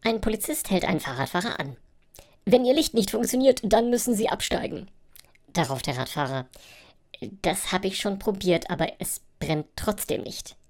Ein Polizist hält einen Fahrradfahrer an. Wenn Ihr Licht nicht funktioniert, dann müssen Sie absteigen. Darauf der Radfahrer. Das habe ich schon probiert, aber es brennt trotzdem nicht.